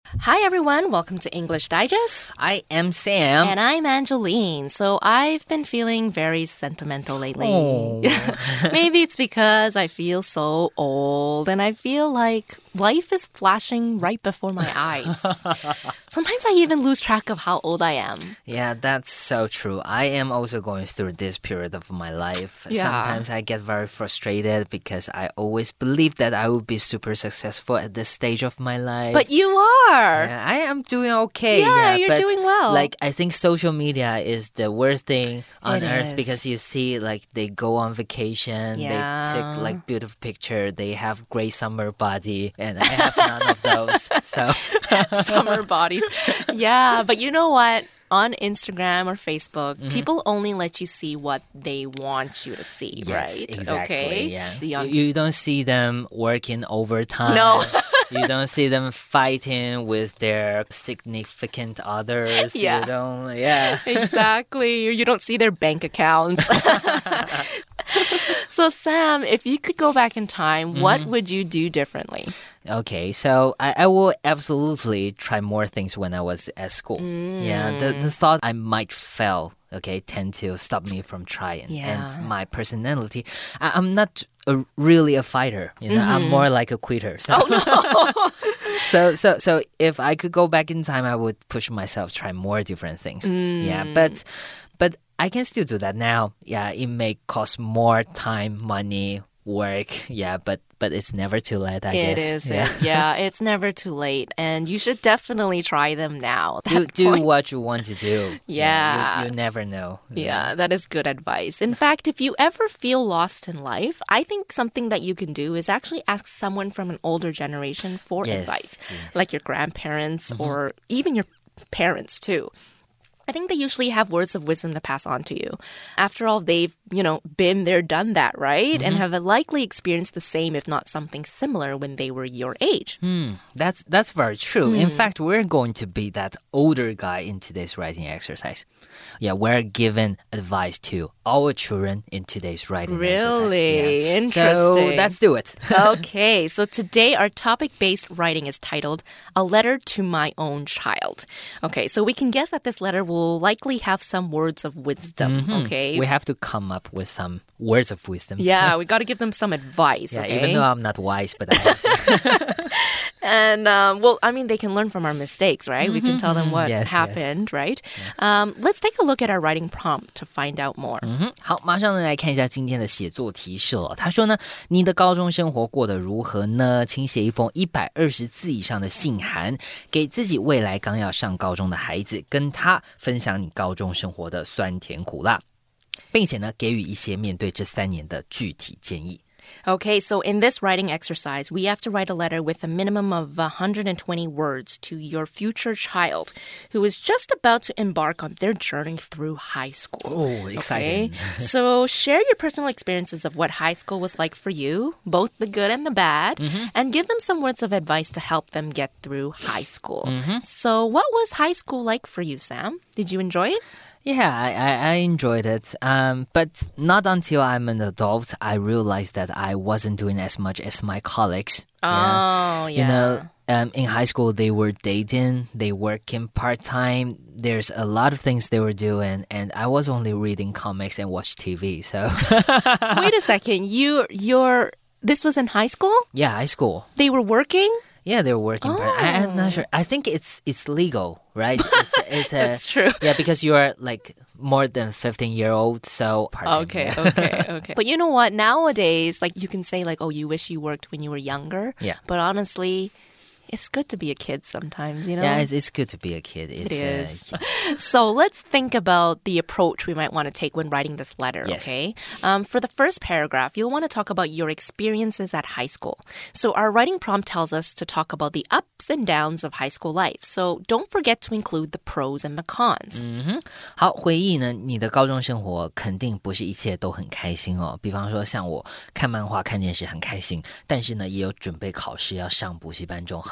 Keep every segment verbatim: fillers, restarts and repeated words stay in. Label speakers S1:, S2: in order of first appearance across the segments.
S1: Hi everyone, welcome to English Digest.
S2: I am Sam.
S1: And I'm Angeline. So I've been feeling very sentimental lately.
S2: Oh.
S1: Maybe it's because I feel so old and I feel like life is flashing right before my eyes. Sometimes I even lose track of how old I am.
S2: Yeah, that's so true. I am also going through this period of my life.
S1: Yeah.
S2: Sometimes I get very frustrated because I always believed that I would be super successful at this stage of my life.
S1: But you are.
S2: Yeah, I am doing okay.
S1: Yeah,
S2: yeah
S1: you're
S2: but
S1: doing well.
S2: Like, I think social media is the worst thing on
S1: It
S2: earth
S1: is.
S2: because you see, like, they go on vacation,
S1: Yeah.
S2: they take, like, beautiful picture, they have great summer body, and I have none of those. So
S1: Summer bodies. Yeah, but you know what? On Instagram or Facebook,
S2: mm-hmm.
S1: people only let you see what they want you to see,
S2: yes,
S1: right?
S2: Exactly.
S1: Okay.
S2: Yeah.
S1: The young-
S2: you, you don't see them working overtime.
S1: No.
S2: You don't see them fighting with their significant others.
S1: Yeah.
S2: You don't, yeah.
S1: Exactly. You don't see their bank accounts. So, Sam, if you could go back in time, mm-hmm. what would you do differently?
S2: Okay, so I, I will absolutely try more things when I was at school.
S1: Mm.
S2: Yeah, the, the thought I might fail, okay, tend to stop me from trying.
S1: Yeah.
S2: And my personality, I, I'm not a, really a fighter, you know, mm-hmm. I'm more like a quitter. So.
S1: Oh, no.
S2: so, so, so if I could go back in time, I would push myself, try more different things.
S1: Mm.
S2: Yeah, but, but I can still do that now. Yeah, it may cost more time, money, work. Yeah, but but it's never too late, I
S1: it
S2: guess.
S1: It is.
S2: Yeah.
S1: It. yeah, it's never too late. And you should definitely try them now.
S2: Do, do what you want to do.
S1: Yeah.
S2: yeah you, you never know.
S1: Yeah. yeah, that is good advice. In fact, if you ever feel lost in life, I think something that you can do is actually ask someone from an older generation for
S2: yes,
S1: advice.
S2: Yes.
S1: Like your grandparents
S2: mm-hmm.
S1: or even your parents too. I think they usually have words of wisdom to pass on to you. After all, they've, you know, been there, done that, right? Mm-hmm. And have likely experienced the same, if not something similar, when they were your age.
S2: Mm, that's that's very true. Mm. In fact, we're going to be that older guy in today's writing exercise. Yeah, we're giving advice to our children in today's writing
S1: really?
S2: exercise.
S1: Really?
S2: Yeah.
S1: Interesting.
S2: So let's do it.
S1: Okay, so today our topic-based writing is titled A Letter to My Own Child. Okay, so we can guess that this letter will will likely have some words of wisdom,
S2: mm-hmm.
S1: okay?
S2: We have to come up with some words of wisdom.
S1: Yeah, we got to give them some advice,
S2: yeah,
S1: okay?
S2: Even though I'm not wise, but I have to.
S1: And, um, well, I mean, they can learn from our mistakes, right? Mm-hmm. We can tell them what
S2: yes,
S1: happened,
S2: yes.
S1: right? Yeah. Um, let's take a look at our writing prompt to find out more.
S2: 嗯哼，好，马上来看一下今天的写作提示了。他说呢，你的高中生活過得如何呢？請寫一封一百二十字以上的信函，給自己未來剛要上高中的孩子，跟他分享你高中生活的酸甜苦辣，並且呢，給予一些面對這三年的具體建議。
S1: Okay, so in this writing exercise, we have to write a letter with a minimum of one hundred twenty words to your future child who is just about to embark on their journey through high school.
S2: Oh, exciting.
S1: Okay? So share your personal experiences of what high school was like for you, both the good and the bad, mm-hmm. and give them some words of advice to help them get through high school. Mm-hmm. So what was high school like for you, Sam? Did you enjoy it?
S2: Yeah, I, I, I enjoyed it, um, but not until I'm an adult, I realized that I wasn't doing as much as my colleagues.
S1: Oh, yeah.
S2: You know, um, in high school, they were dating, they working part-time. There's a lot of things they were doing, and I was only reading comics and watch T V, so...
S1: Wait a second, you, you're... This was in high school?
S2: Yeah, high school.
S1: They were working?
S2: Yeah, they're working.
S1: Oh.
S2: Part- I, I'm not sure. I think it's it's legal, right? It's, it's a,
S1: That's true.
S2: Yeah, because you are like more than fifteen year old, so part-time.
S1: Okay, okay, okay. But you know what? Nowadays, like you can say like, oh, you wish you worked when you were younger.
S2: Yeah.
S1: But honestly, it's good to be a kid sometimes, you know?
S2: Yeah, it's, it's good to be a kid. It's,
S1: it is.
S2: Uh,
S1: so let's think about the approach we might want to take when writing this letter,
S2: yes.
S1: okay? Um, for the first paragraph, you'll want to talk about your experiences at high school. So our writing prompt tells us to talk about the ups and downs of high school life. So don't forget to include the pros and the cons.
S2: 嗯哼，好，回憶呢，你的高中生活肯定不是一切都很開心哦。比方說，像我看漫畫、看電視很開心，但是呢，也有準備考試要上補習班這種很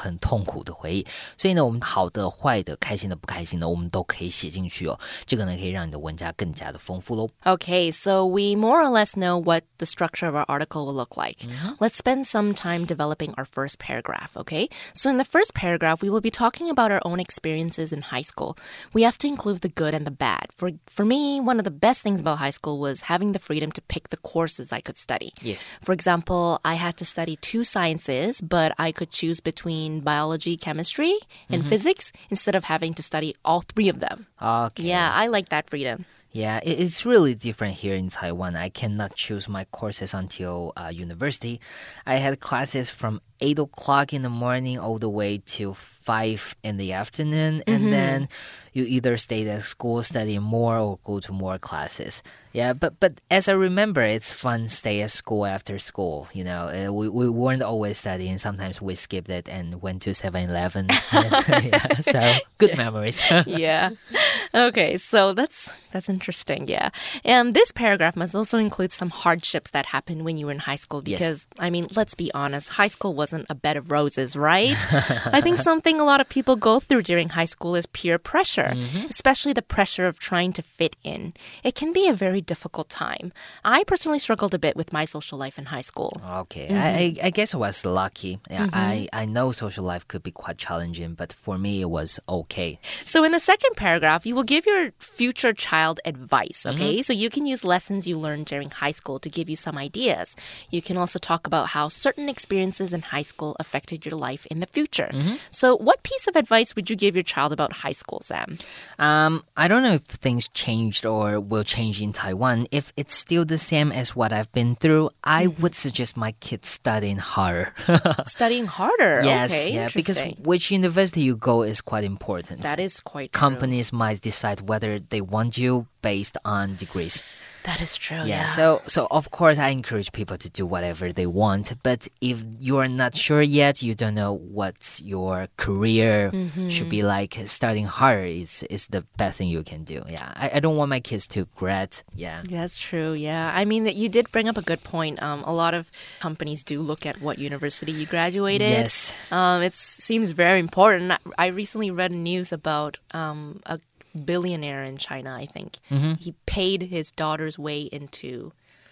S2: 很痛苦的回憶。所以呢，我們好的、壞的、開心的、不開心的，我們都可以寫進去哦。這個呢，可以讓你的文章更加的豐富嘍。
S1: Okay, so we more or less know what the structure of our article will look like. Mm-hmm. Let's spend some time developing our first paragraph, okay? So in the first paragraph, we will be talking about our own experiences in high school. We have to include the good and the bad. For for me, one of the best things about high school was having the freedom to pick the courses I could study.
S2: Yes.
S1: For example, I had to study two sciences, but I could choose between biology, chemistry, and mm-hmm. physics instead of having to study all three of them.
S2: Okay.
S1: Yeah, I like that freedom.
S2: Yeah, it's really different here in Taiwan. I cannot choose my courses until uh, university. I had classes from eight o'clock in the morning all the way to five in the afternoon. And mm-hmm. then you either stay at school, study more, or go to more classes. Yeah, but but as I remember, it's fun stay at school after school. You know, uh, we, we weren't always studying. Sometimes we skipped it and went to seven eleven. Yeah, so good memories.
S1: Yeah. Okay, so that's that's interesting, yeah. And this paragraph must also include some hardships that happened when you were in high school because, yes. I mean, let's be honest, high school wasn't a bed of roses, right? I think something a lot of people go through during high school is peer pressure, mm-hmm. especially the pressure of trying to fit in. It can be a very difficult time. I personally struggled a bit with my social life in high school.
S2: Okay, mm-hmm. I, I guess I was lucky. Yeah, mm-hmm. I, I know social life could be quite challenging, but for me, it was okay.
S1: So in the second paragraph, you will give your future child advice, okay? Mm-hmm. So you can use lessons you learned during high school to give you some ideas. You can also talk about how certain experiences in high school affected your life in the future. Mm-hmm. So what piece of advice would you give your child about high school, Sam?
S2: Um, I don't know if things changed or will change in Taiwan. If it's still the same as what I've been through, I mm-hmm. would suggest my kids studying harder.
S1: Studying harder?
S2: Yes,
S1: okay,
S2: yeah, because which university you go is quite important.
S1: That is quite true.
S2: Companies might decide whether they want you based on degrees.
S1: That is true,
S2: yeah.
S1: yeah.
S2: So, so of course, I encourage people to do whatever they want. But if you are not sure yet, you don't know what your career mm-hmm. should be like, starting harder is, is the best thing you can do. Yeah, I, I don't want my kids to regret. Yeah.
S1: That's true, yeah. I mean, you did bring up a good point. Um, a lot of companies do look at what university you graduated.
S2: Yes.
S1: Um, it seems very important. I recently read news about um, a billionaire in China, I think. Mm-hmm. He paid his daughter's way into,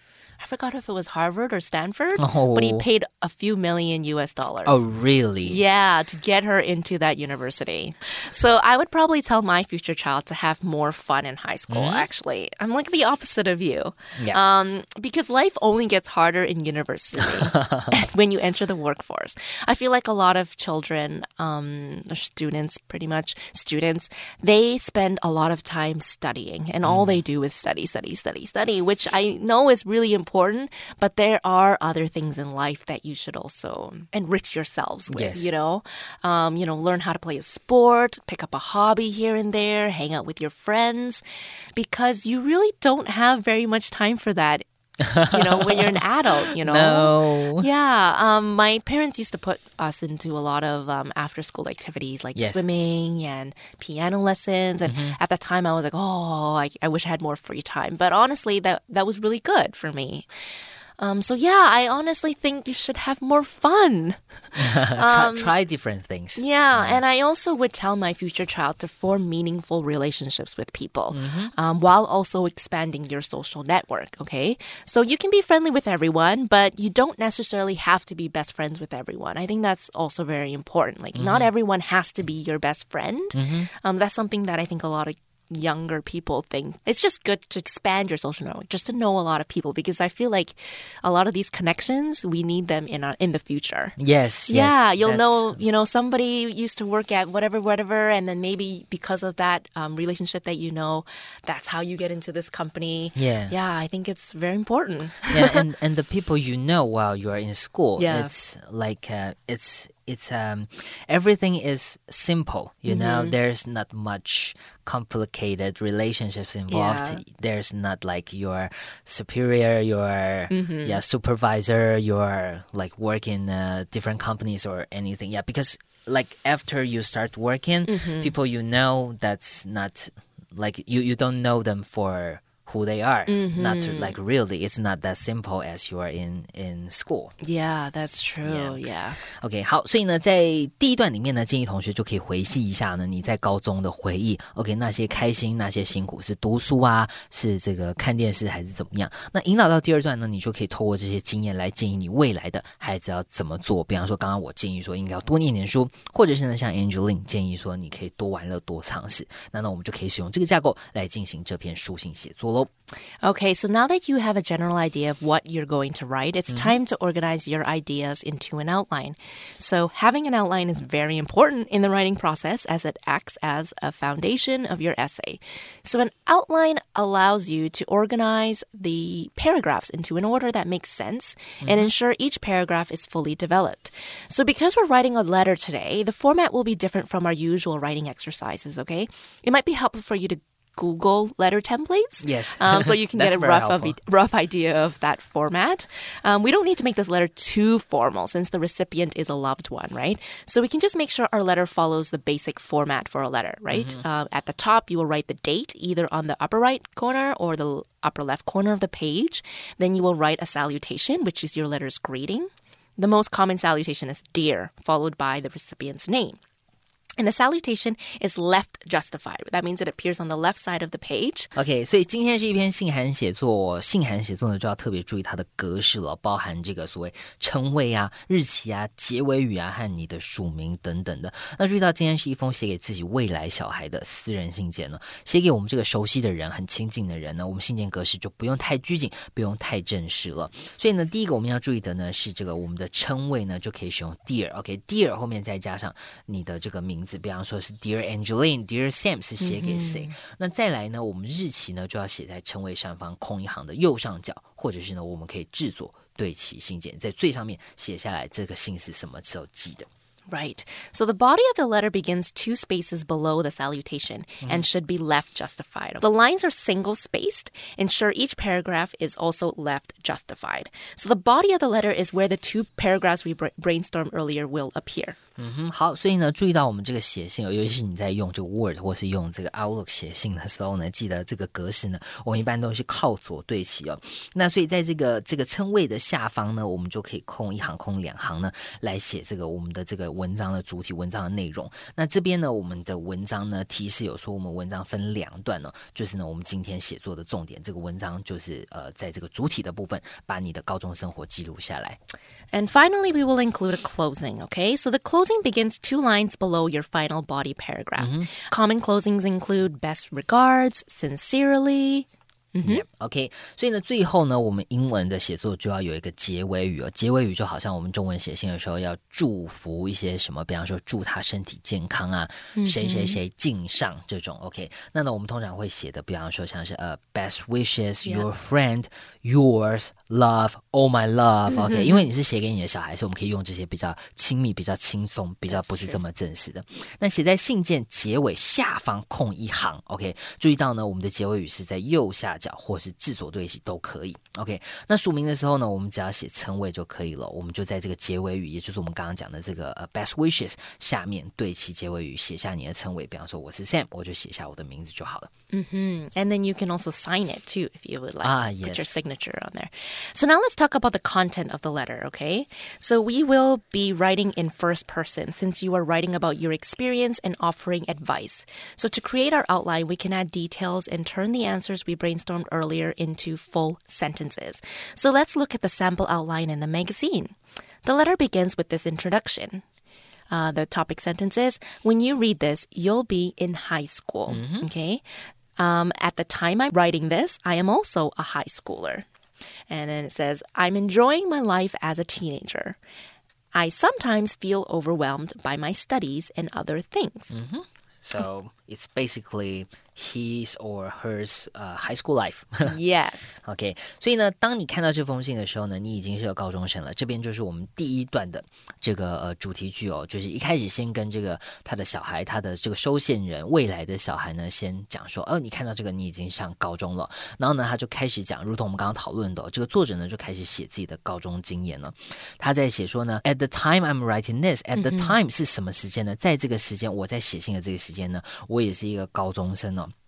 S1: I forgot if it was Harvard or Stanford,
S2: oh.
S1: but he paid a few million U S dollars.
S2: Oh, really?
S1: Yeah, to get her into that university. So I would probably tell my future child to have more fun in high school, mm-hmm. actually. I'm like the opposite of you.
S2: Yeah.
S1: Um, because life only gets harder in university when you enter the workforce. I feel like a lot of children, um, students, pretty much students, they spend a lot of time studying and mm. all they do is study, study, study, study, which I know is really important. important, but there are other things in life that you should also enrich yourselves with,
S2: yes.
S1: you know? Um, you know, learn how to play a sport, pick up a hobby here and there, hang out with your friends, because you really don't have very much time for that. You know, when you're an adult, you know?
S2: No.
S1: Yeah. Um, my parents used to put us into a lot of um, after-school activities like
S2: yes.
S1: swimming and piano lessons. And mm-hmm. at that time, I was like, oh, I, I wish I had more free time. But honestly, that, that was really good for me. Um, so yeah, I honestly think you should have more fun.
S2: um, try, try different things.
S1: Yeah, and I also would tell my future child to form meaningful relationships with people mm-hmm. um, while also expanding your social network, okay? So you can be friendly with everyone, but you don't necessarily have to be best friends with everyone. I think that's also very important. Like, mm-hmm. not everyone has to be your best friend. Mm-hmm. Um, that's something that I think a lot of younger people think. It's just good to expand your social network, just to know a lot of people, because I feel like a lot of these connections, we need them in our, in the future.
S2: Yes,
S1: yeah,
S2: yes,
S1: you'll know, you know, somebody used to work at whatever, whatever, and then maybe because of that um, relationship that you know, that's how you get into this company.
S2: Yeah.
S1: Yeah, I think it's very important.
S2: Yeah, and, and the people you know while you are in school,
S1: yeah.
S2: it's like, uh, it's It's um everything is simple, you mm-hmm. know. There's not much complicated relationships involved.
S1: Yeah.
S2: There's not like your superior, your mm-hmm. yeah supervisor, your like work in uh, different companies or anything. Yeah, because like after you start working, mm-hmm. people you know, that's not like you you don't know them for who they are.
S1: Mm-hmm.
S2: Not to, like really, it's not that simple as you are in in school.
S1: Yeah, that's true. Yeah.
S2: OK， 好，所以呢，在第一段裡面呢，建議同學就可以回憶一下呢，你在高中的回憶。OK， 那些開心，那些辛苦，是讀書啊，是這個看電視，還是怎麼樣？那引導到第二段呢，你就可以透過這些經驗來建議你未來的孩子要怎麼做。比方說，剛剛我建議說應該要多念點書，或者是呢，像 Angeline 建議說你可以多玩樂、多嘗試。那那我們就可以使用這個架構來進行這篇書信寫作嘍。
S1: Okay, so now that you have a general idea of what you're going to write, it's mm-hmm. time to organize your ideas into an outline. So having an outline is very important in the writing process as it acts as a foundation of your essay. So an outline allows you to organize the paragraphs into an order that makes sense mm-hmm. and ensure each paragraph is fully developed. So because we're writing a letter today, the format will be different from our usual writing exercises, okay? It might be helpful for you to Google letter templates.
S2: Yes.
S1: Um, so you can get a rough, of, rough idea of that format. Um, we don't need to make this letter too formal since the recipient is a loved one, right? So we can just make sure our letter follows the basic format for a letter, right? Mm-hmm. Uh, at the top, you will write the date either on the upper right corner or the upper left corner of the page. Then you will write a salutation, which is your letter's greeting. The most common salutation is dear, followed by the recipient's name. And the salutation is left justified. That means it appears on the left side of the page.
S2: OK， 所以今天是一篇信函写作，信函寫作呢就要特別注意它的格式了，包含這個所謂稱謂啊、日期啊、結尾語啊和你的署名等等的。那注意到今天是一封寫給自己未來小孩的私人信件呢，寫給我們這個熟悉的人、很親近的人呢，我們信件格式就不用太拘謹，不用太正式了。所以呢，第一個我們要注意的呢是這個我們的稱謂呢就可以使用 dear。OK，dear、okay, 後面再加上你的這個名字，比方說是 Dear Angeline、Dear Sam 是寫給誰、嗯、那再來呢我們日期呢就要寫在稱謂上方空一行的右上角，或者是呢我們可以製作對齊信件，在最上面寫下來這個信是什麼時候寄的。
S1: Right. So the body of the letter begins two spaces below the salutation mm-hmm. and should be left justified. The lines are single-spaced. Ensure each paragraph is also left justified. So the body of the letter is where the two paragraphs we brainstormed earlier will appear.
S2: 嗯哼，好，所以呢，注意到我們這個寫信，尤其是你在用這個 Word 或是用這個 Outlook 寫信的時候呢，記得這個格式呢，我們一般都是靠左對齊哦。那所以在這個這個稱謂的下方呢，我們就可以空一行、空兩行呢，來寫這個我們的這個文章的主體、文章的內容。那這邊呢，我們的文章呢，提示有說我們文章分兩段哦，就是呢，我們今天寫作的重點，這個文章就是呃，在這個主體的部分，把你的高中生活記錄下來。
S1: And finally, we will include a closing, okay? So the closing begins two lines below your final body paragraph. Mm-hmm. Common closings include best regards, sincerely. Mm-hmm.
S2: Yep, OK， 所以呢，最後呢，我們英文的寫作就要有一個結尾語哦。結尾語就好像我們中文寫信的時候要祝福一些什麼，比方說祝他身體健康啊，誰誰誰敬上這種 OK。那呢，我們通常會寫的，比方說像是呃、uh, best wishes, your friend, yours, love, all my love OK， 因為你是寫給你的小孩，所以我們可以用這些比較親密、比較輕鬆、比較不是這麼正式的。那寫在信件結尾下方空一行 OK， 注意到呢，我們的結尾語是在右下角。或是字左對齊都可以 OK， 那署名的時候呢，我們只要寫稱謂就可以了，我們就在這個結尾語，也就是我們剛剛講的這個、uh, best wishes 下面對齊結尾語，寫下你的稱謂，比方說我是 Sam， 我就寫下我的名字就好了。
S1: Mm-hmm. And then you can also sign it too if you would like
S2: ah,
S1: to
S2: yes.
S1: put your signature on there. So now let's talk about the content of the letter, okay? So we will be writing in first person since you are writing about your experience and offering advice. So to create our outline, we can add details and turn the answers we brainstormed earlier into full sentences. So let's look at the sample outline in the magazine. The letter begins with this introduction. Uh, the topic sentence is, when you read this, you'll be in high school, mm-hmm. okay? Um, at the time I'm writing this, I am also a high schooler. And then it says, I'm enjoying my life as a teenager. I sometimes feel overwhelmed by my studies and other things.
S2: Mm-hmm. So it's basically his or hers uh, high school life.
S1: Yes.
S2: OK， 所以呢，當你看到這封信的時候呢，你已經是個高中生了。這邊就是我們第一段的這個呃主題句哦，就是一開始先跟這個他的小孩，他的這個收信人未來的小孩呢，先講說，哦，你看到這個你已經上高中了。然後呢，他就開始講，如同我們剛剛討論的、哦，這個作者呢就開始寫自己的高中經驗了。他在寫說呢 ，At the time I'm writing this, at the time 是什麼時間呢？在這個時間，我在寫信的這個時間呢，我也是一個高中生哦。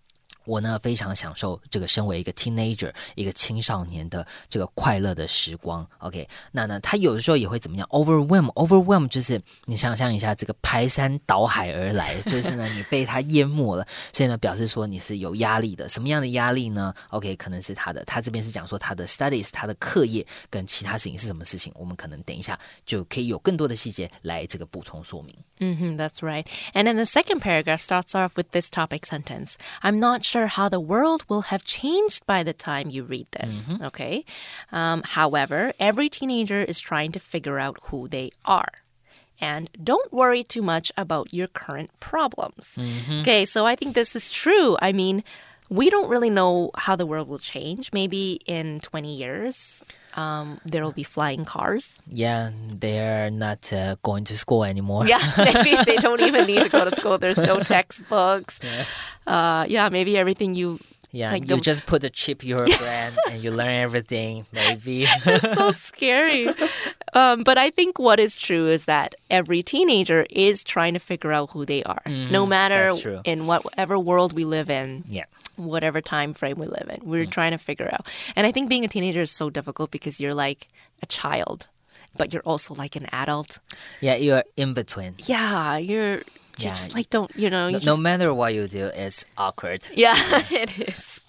S2: 我呢非常享受這個身為一個 teenager 一個青少年的這個快樂的時光 OK 那呢他有的時候也會怎麼樣 overwhelm overwhelm 就是你想象一下這個排山倒海而來就是呢你被他淹沒了所以呢表示說你是有壓力的什麼樣的壓力呢 OK 可能是他的他這邊是講說他的 studies 他的課業跟其他事情是什麼事情我們可能等一下就可以有更多的細節來這個補充說明
S1: Mm-hmm, that's right. And then the second paragraph starts off with this topic sentence. I'm not sure how the world will have changed by the time you read this. Mm-hmm. Okay. Um, however, every teenager is trying to figure out who they are. And don't worry too much about your current problems. Mm-hmm. Okay, so I think this is true. I mean, we don't really know how the world will change. Maybe in twenty years, um, there will be flying cars.
S2: Yeah, they're not uh, going to school anymore.
S1: Yeah, maybe they don't even need to go to school. There's no textbooks. Yeah, uh, yeah maybe everything you...
S2: Yeah,
S1: like
S2: you
S1: the...
S2: just put a chip in your brain and you learn everything, maybe.
S1: It's so scary. Um, but I think what is true is that every teenager is trying to figure out who they are. Mm-hmm, no matter in whatever world we live in.
S2: Yeah.
S1: Whatever time frame we live in. We're mm. trying to figure out. And I think being a teenager is so difficult because you're like a child, but you're also like an adult.
S2: Yeah, you're in between.
S1: Yeah, you're
S2: yeah.
S1: just like don't, you know. You
S2: no,
S1: just...
S2: no matter what you do, it's awkward.
S1: Yeah, yeah. It is.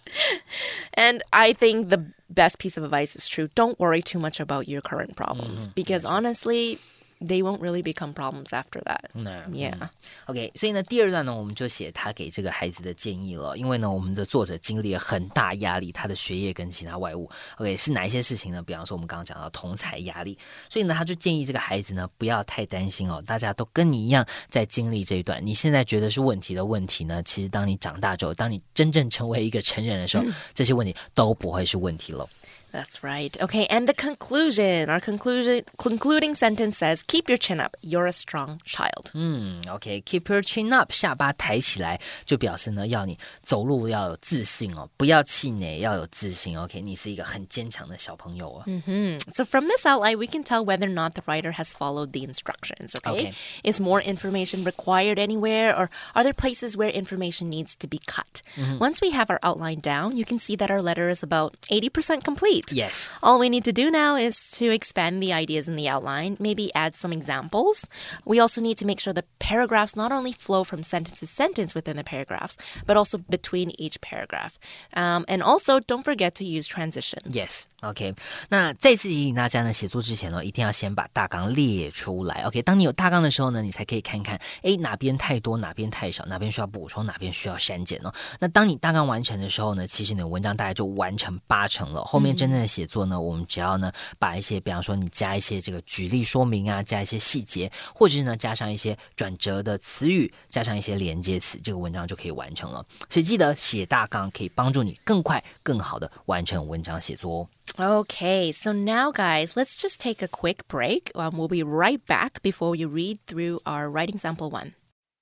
S1: And I think the best piece of advice is true. Don't worry too much about your current problems mm-hmm. because That's honestly... Right. They won't really become problems after that.
S2: No.
S1: Yeah.
S2: OK, 所以呢，第二段呢，我們就寫他給這個孩子的建議了。因為呢，我們的作者經歷了很大壓力，他的學業跟其他外務。OK， 是哪一些事情呢？比方說，我們剛剛講到同儕壓力，所以呢，他就建議這個孩子呢，不要太擔心哦。大家都跟你一樣在經歷這一段，你現在覺得是問題的問題呢，其實當你長大之後，當你真正成為一個成人的時候，這些問題都不會是問題了。
S1: That's right. Okay, and the conclusion. Our conclusion, concluding sentence says, keep your chin up. You're a strong child.
S2: 嗯 OK, keep your chin up. 下巴抬起來就表示呢，要你走路要有自信哦，不要氣餒，要有自信。OK, 你是一個很堅強的小朋友哦。
S1: Mm-hmm. So from this outline, we can tell whether or not the writer has followed the instructions. Okay? Okay. Is more information required anywhere, or are there places where information needs to be cut? Mm-hmm. Once we have our outline down, you can see that our letter is about eighty percent complete.
S2: Yes.
S1: All we need to do now is to expand the ideas in the outline, maybe add some examples. We also need to make sure the paragraphs not only flow from sentence to sentence within the paragraphs, but also between each paragraph. Um, and also, don't forget to use transitions.
S2: Yes. OK. 那再次提醒大家呢，寫作之前呢，一定要先把大綱列出來。OK. 當你有大綱的時候呢，你才可以看看，誒，哪邊太多，哪邊太少，哪邊需要補充，哪邊需要刪減哦。那當你大綱完成的時候呢，其實你的文章大概就完成八成了。後面真正的寫作呢，我們只要呢把一些，比方說你加一些這個舉例說明啊，加一些細節，或者是呢加上一些轉折的詞語，加上一些連接詞，這個文章就可以完成了。所以記得寫大綱可以幫助你更快、更好的完成文章寫作哦。
S1: Okay, so now guys, let's just take a quick break. Um, we'll be right back before you read through our writing sample one.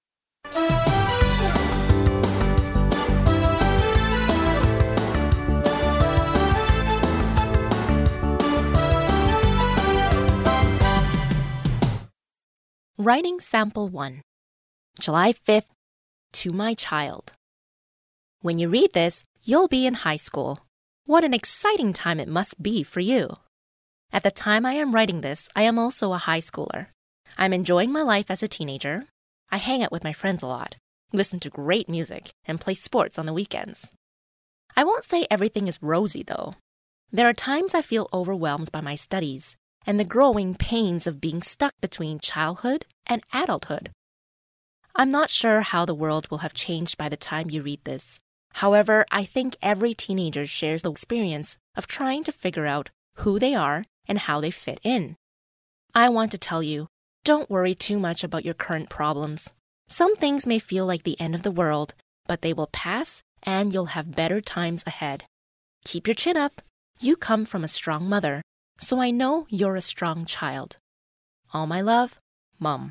S1: Writing Sample one. July fifth, to my child. When you read this, you'll be in high school. What an exciting time it must be for you. At the time I am writing this, I am also a high schooler. I'm enjoying my life as a teenager. I hang out with my friends a lot, listen to great music, and play sports on the weekends. I won't say everything is rosy, though. There are times I feel overwhelmed by my studies and the growing pains of being stuck between childhood and adulthood. I'm not sure how the world will have changed by the time you read this. However, I think every teenager shares the experience of trying to figure out who they are and how they fit in. I want to tell you, don't worry too much about your current problems. Some things may feel like the end of the world, but they will pass and you'll have better times ahead. Keep your chin up. You come from a strong mother, so I know you're a strong child. All my love, Mom.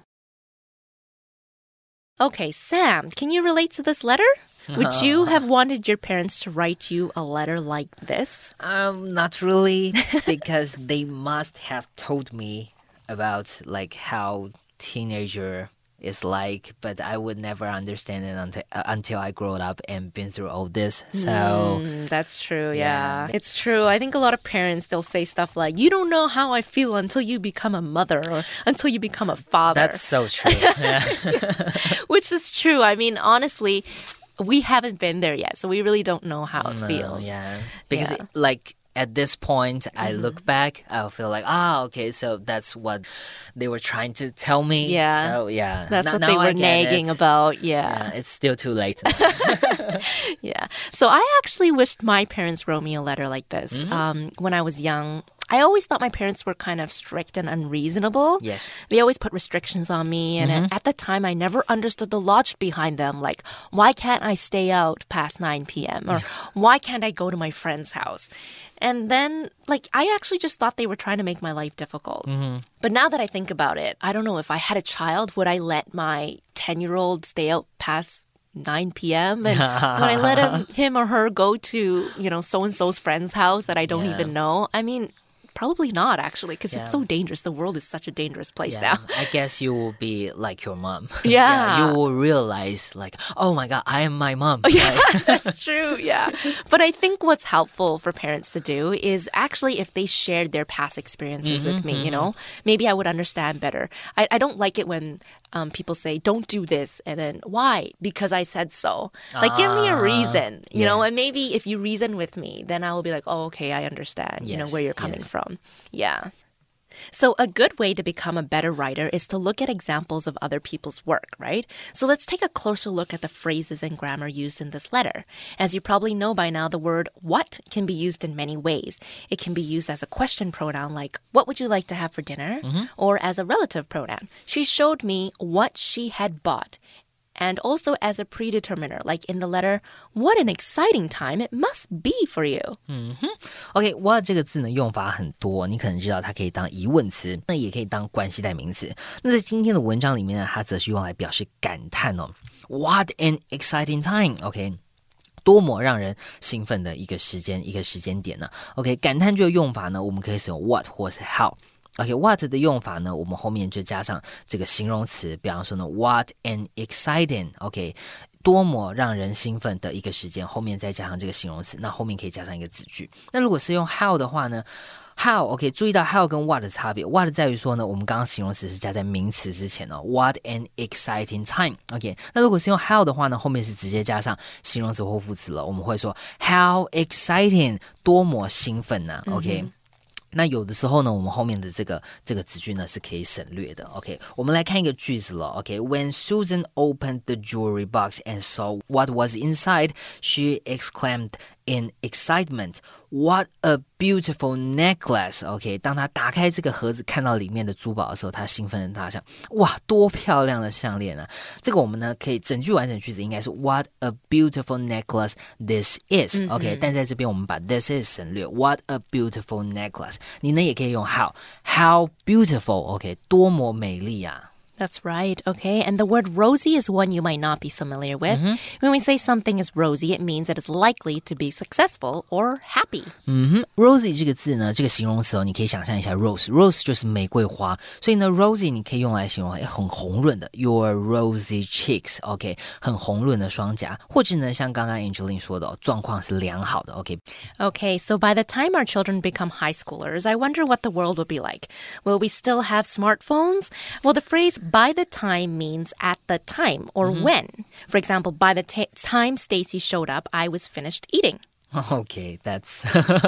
S1: Okay, Sam, can you relate to this letter? Would you have wanted your parents to write you a letter like this?
S2: Um, not really, because they must have told me about like how teenager is like, but I would never understand it until uh, until I grow up and been through all this. So
S1: mm, that's true. Yeah. yeah, it's true. I think a lot of parents, they'll say stuff like, "You don't know how I feel until you become a mother or until you become a father."
S2: That's so true. Yeah.
S1: Which is true. I mean, honestly, we haven't been there yet, so we really don't know how it
S2: no,
S1: feels.
S2: Yeah, because
S1: yeah.
S2: It, like. At this point, I mm-hmm. look back, I'll feel like, ah, okay, so that's what they were trying to tell me.
S1: Yeah.
S2: So, yeah.
S1: That's
S2: N-
S1: what they were nagging
S2: it.
S1: about. Yeah.
S2: yeah. It's still too late.
S1: yeah. So I actually wished my parents wrote me a letter like this. Mm-hmm. Um, when I was young, I always thought my parents were kind of strict and unreasonable.
S2: Yes.
S1: They always put restrictions on me. And
S2: mm-hmm.
S1: at, at the time, I never understood the logic behind them. Like, why can't I stay out past nine p.m.? Or why can't I go to my friend's house? And then, like, I actually just thought they were trying to make my life difficult.
S2: Mm-hmm.
S1: But now that I think about it, I don't know, if I had a child, would I let my ten-year-old stay out past nine p.m. and when I let him, him or her go to, you know, so-and-so's friend's house that I don't yeah. even know? I mean, probably not, actually, because yeah. it's so dangerous. The world is such a dangerous place
S2: yeah.
S1: now.
S2: I guess you will be like your mom.
S1: Yeah.
S2: yeah. You will realize, like, oh my God, I am my mom.
S1: Yeah, that's true. Yeah. But I think what's helpful for parents to do is actually if they shared their past experiences mm-hmm, with me, mm-hmm. you know, maybe I would understand better. I, I don't like it when um, people say, don't do this. And then, why? Because I said so. Like, uh, give me a reason, you yeah. know, and maybe if you reason with me, then I will be like, oh, okay, I understand, yes, you know, where you're coming yes. from. Yeah. So a good way to become a better writer is to look at examples of other people's work, right? So let's take a closer look at the phrases and grammar used in this letter. As you probably know by now, the word what can be used in many ways. It can be used as a question pronoun like, what would you like to have for dinner? Mm-hmm. Or as a relative pronoun. She showed me what she had bought. And also as a predeterminer, like in the letter, what an exciting time it must be for you.
S2: 嗯哼 OK, what 這個字呢用法很多，你可能知道它可以當疑問詞，那也可以當關係代名詞。那在今天的文章裡面呢，它則是用來表示感嘆哦。What an exciting time, OK。多麼讓人興奮的一個時間，一個時間點呢 ？OK， 感嘆句的用法呢，我們可以使用 what 或是 how。OK，what、okay, 的用法呢，我們後面就加上這個形容詞，比方說呢 ，what an exciting，OK，、okay, 多麼讓人興奮的一個時間，後面再加上這個形容詞，那後面可以加上一個子句。那如果是用 how 的話呢 ，how，OK，、okay, 注意到 how 跟 what 的差別 ，what 在於說呢，我們剛剛形容詞是加在名詞之前哦 ，what an exciting time，OK，、okay, 那如果是用 how 的話呢，後面是直接加上形容詞或副詞了，我們會說 how exciting， 多麼興奮呢、啊、，OK。嗯那有的時候呢，我們後面的這個這個子句呢是可以省略的。OK， 我們來看一個句子了。OK，When Susan opened the jewelry box and saw what was inside, she exclaimed in excitement, "What a beautiful necklace!" OK， 當她打開這個盒子，看到裡面的珠寶的時候，她興奮的大笑：“哇，多漂亮的項鏈啊！”這個我們呢可以整句完整句子應該是 "What a beautiful necklace this is!、嗯、OK， 但在這邊我們把 this is 省略 "What a beautiful necklace!" 你呢也可以用 how how beautiful OK 多麼美麗啊。
S1: That's right, okay? And the word rosy is one you might not be familiar with. Mm-hmm. When we say something is rosy, it means it is likely to be successful or happy.
S2: 嗯哼 Rosy 這個字呢，這個形容詞哦，你可以想象一下 rose Rose 就是玫瑰花，所以呢 rosy 你可以用來形容很紅潤的 Your rosy cheeks, OK 很紅潤的雙頰，或者呢像剛剛 Angeline 說的、哦、狀況是良好的 OK
S1: Okay, so by the time our children become high schoolers, I wonder what the world will be like. Will we still have smartphones? Well, the phrase by the time means at the time or mm-hmm. when. For example, by the t- time Stacy showed up, I was finished eating.
S2: Okay, that's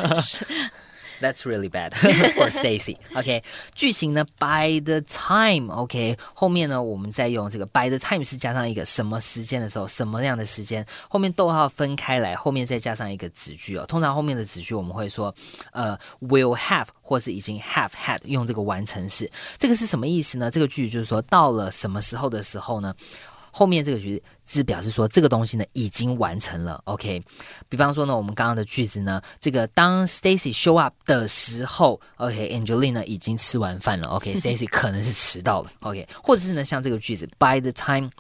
S2: that's really bad for Stacy. OK, 句型呢 by the time, OK, 後面呢我們再用這個 by the time 是加上一個什麼時間的時候，什麼樣的時間，後面逗號分開來，後面再加上一個子句哦。通常後面的子句我們會說呃 will have 或是已經 have had 用這個完成式。這個是什麼意思呢？這個句子就是說到了什麼時候的時候呢，後面這個句子是表示說這個東西呢已經完成了 OK 比方說呢我們剛剛的句子呢這個當 Stacy show up 的時候 OK Angeline 呢已經吃完飯了 OK Stacy 可能是遲到了 OK 或者是呢像這個句子 by the time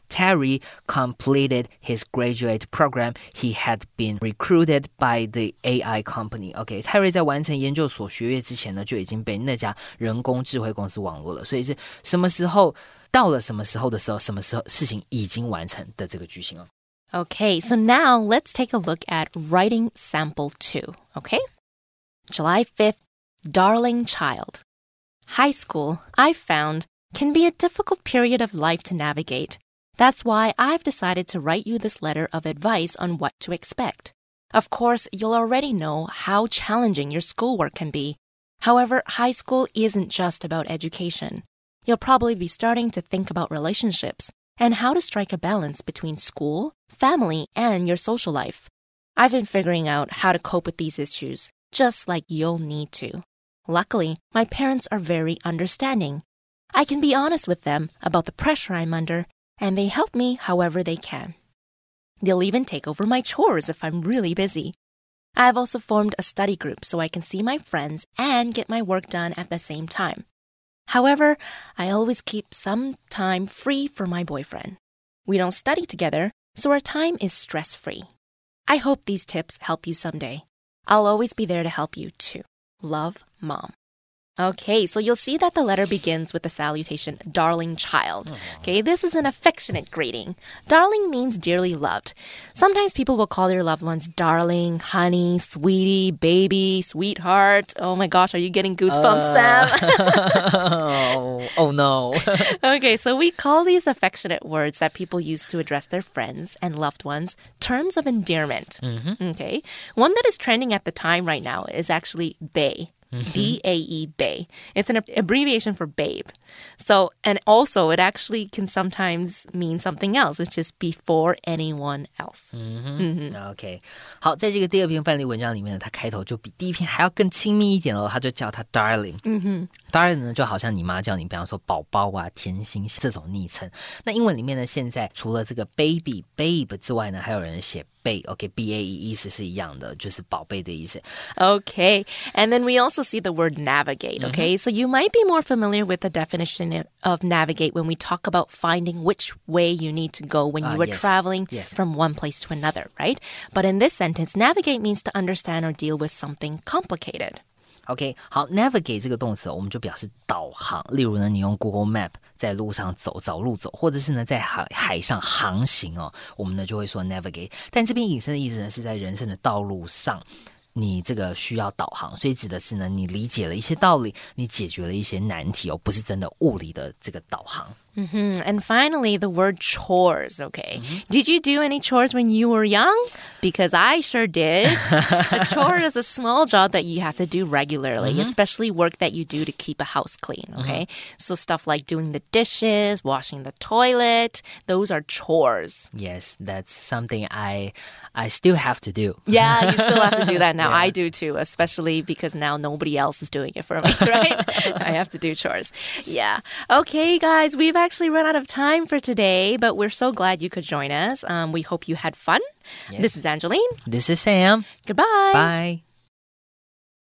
S2: Terry completed his graduate program. He had been recruited by the A I company. OK, 泰瑞在完成研究所學業之前呢，就已經被那家人工智慧公司網絡了。所以是什麼時候到了什麼時候的時候，什麼時候事情已經完成的這個句型哦。
S1: Okay, so now let's take a look at writing sample two, okay? July fifth, darling child. High school, I've found, can be a difficult period of life to navigate. That's why I've decided to write you this letter of advice on what to expect. Of course, you'll already know how challenging your schoolwork can be. However, high school isn't just about education. You'll probably be starting to think about relationships and how to strike a balance between school, family, and your social life. I've been figuring out how to cope with these issues, just like you'll need to. Luckily, my parents are very understanding. I can be honest with them about the pressure I'm under, and they help me however they can. They'll even take over my chores if I'm really busy. I've also formed a study group so I can see my friends and get my work done at the same time. However, I always keep some time free for my boyfriend. We don't study together, so our time is stress-free. I hope these tips help you someday. I'll always be there to help you too. Love, Mom. Okay, so you'll see that the letter begins with the salutation, darling child. Okay, this is an affectionate greeting. Darling means dearly loved. Sometimes people will call their loved ones darling, honey, sweetie, baby, sweetheart. Oh my gosh, are you getting goosebumps, uh, Sam?
S2: oh, oh no.
S1: Okay, so we call these affectionate words that people use to address their friends and loved ones terms of endearment. Mm-hmm. Okay, one that is trending at the time right now is actually bae. B A E, bae. It's an abbreviation for babe. So, and also it actually can sometimes mean something else, which is before anyone else.
S2: Mm-hmm. Mm-hmm. OK， 好，在這個第二篇範例文章裡面呢，它開頭就比第一篇還要更親密一點哦，它就叫它 darling。嗯哼 ，darling 呢就好像你媽叫你，比方說寶寶啊、甜心這種昵稱。那英文裡面呢，現在除了這個 baby、babe 之外呢，還有人寫OK，B A E 意思是一樣的，就是寶貝的意思。
S1: Okay, and then we also see the word navigate, okay? Mm-hmm. So you might be more familiar with the definition of navigate when we talk about finding which way you need to go when you uh, are yes. traveling yes. from one place to another, right? But in this sentence, navigate means to understand or deal with something complicated.
S2: OK， 好 ，navigate 這個動詞我們就表示導航。例如呢，你用 Google Map 在路上走，找路走，或者是呢在海海上航行哦，我們呢就會說 navigate。但這邊引申的意思呢，是在人生的道路上，你這個需要導航，所以指的是呢，你理解了一些道理，你解決了一些難題哦，不是真的物理的這個導航。
S1: Mm-hmm. And finally, the word chores, okay? Mm-hmm. Did you do any chores when you were young? Because I sure did. A chore is a small job that you have to do regularly, mm-hmm. especially work that you do to keep a house clean, okay? Mm-hmm. So stuff like doing the dishes, washing the toilet, those are chores.
S2: Yes, that's something I I still have to do.
S1: Yeah, you still have to do that now. Yeah. I do too, especially because now nobody else is doing it for me, right? I have to do chores. Yeah. Okay, guys, we've actually run out of time for today, but we're so glad you could join us. Um, we hope you had fun. Yes. This is Angeline.
S2: This is Sam.
S1: Goodbye.
S2: Bye.